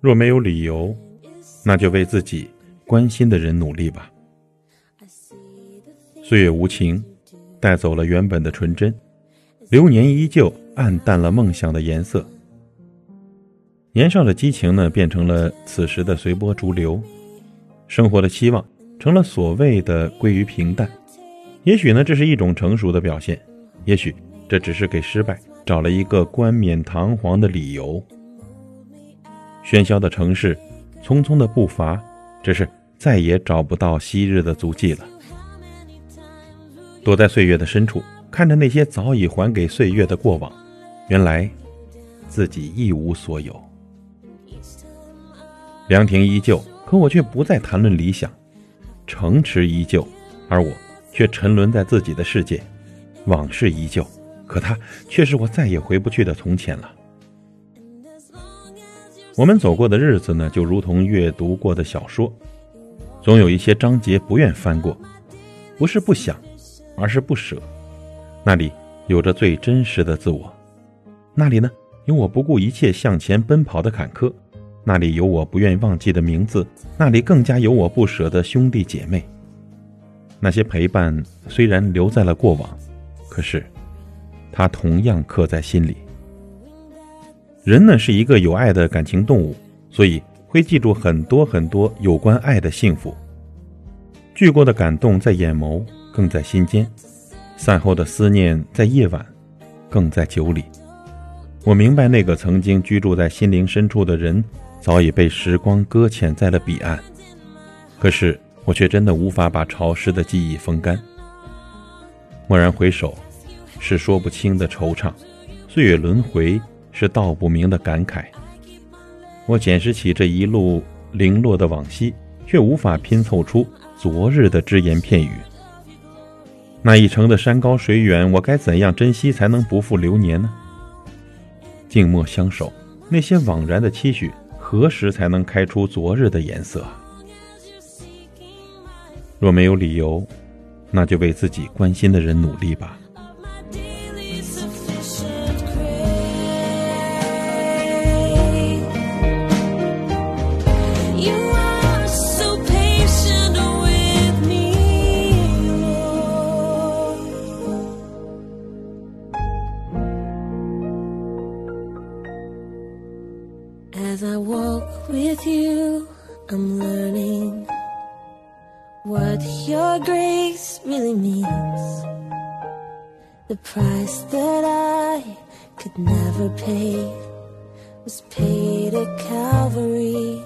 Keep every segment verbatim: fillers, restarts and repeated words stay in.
若没有理由，那就为自己关心的人努力吧。岁月无情，带走了原本的纯真，流年依旧暗淡了梦想的颜色。年少的激情呢，变成了此时的随波逐流，生活的期望成了所谓的归于平淡。也许呢，这是一种成熟的表现，也许这只是给失败找了一个冠冕堂皇的理由。喧嚣的城市，匆匆的步伐，只是再也找不到昔日的足迹了。躲在岁月的深处，看着那些早已还给岁月的过往，原来自己一无所有。凉亭依旧，可我却不再谈论理想；城池依旧，而我却沉沦在自己的世界。往事依旧，可它却是我再也回不去的从前了。我们走过的日子呢，就如同阅读过的小说，总有一些章节不愿翻过，不是不想，而是不舍。那里有着最真实的自我，那里呢，有我不顾一切向前奔跑的坎坷，那里有我不愿忘记的名字，那里更加有我不舍的兄弟姐妹。那些陪伴虽然留在了过往，可是它同样刻在心里。人呢，是一个有爱的感情动物，所以会记住很多很多有关爱的幸福。聚过的感动在眼眸，更在心间；散后的思念在夜晚，更在酒里。我明白，那个曾经居住在心灵深处的人，早已被时光搁浅在了彼岸。可是我却真的无法把潮湿的记忆风干。蓦然回首，是说不清的惆怅；岁月轮回，是道不明的感慨。我捡拾起这一路零落的往昔，却无法拼凑出昨日的只言片语。那一程的山高水远，我该怎样珍惜才能不负流年呢？静默相守，那些惘然的期许，何时才能开出昨日的颜色？若没有理由，那就为自己关心的人努力吧。 As I walk with you, I'm learning what your grace really means. The price that I could never pay was paid at Calvary.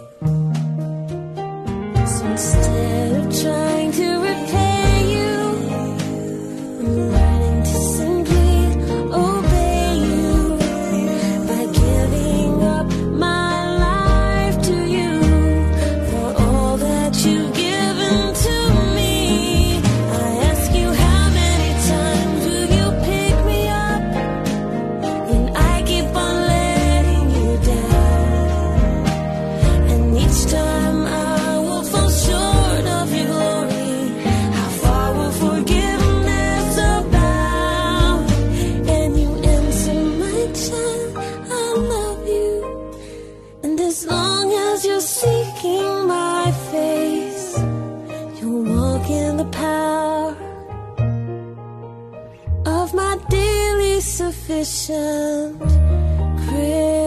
So instead of trying to repay you, I'm learning to simply obey you by giving up my life to you for all that you've given to me. I ask you, how many times will you pick me up when I keep on letting you down? And each time I will fall short of your glory. How far will forgiveness abound? And you answer, my child, I love you. And as long as you're seeking my face, you'll walk in the power of my daily sufficient grace.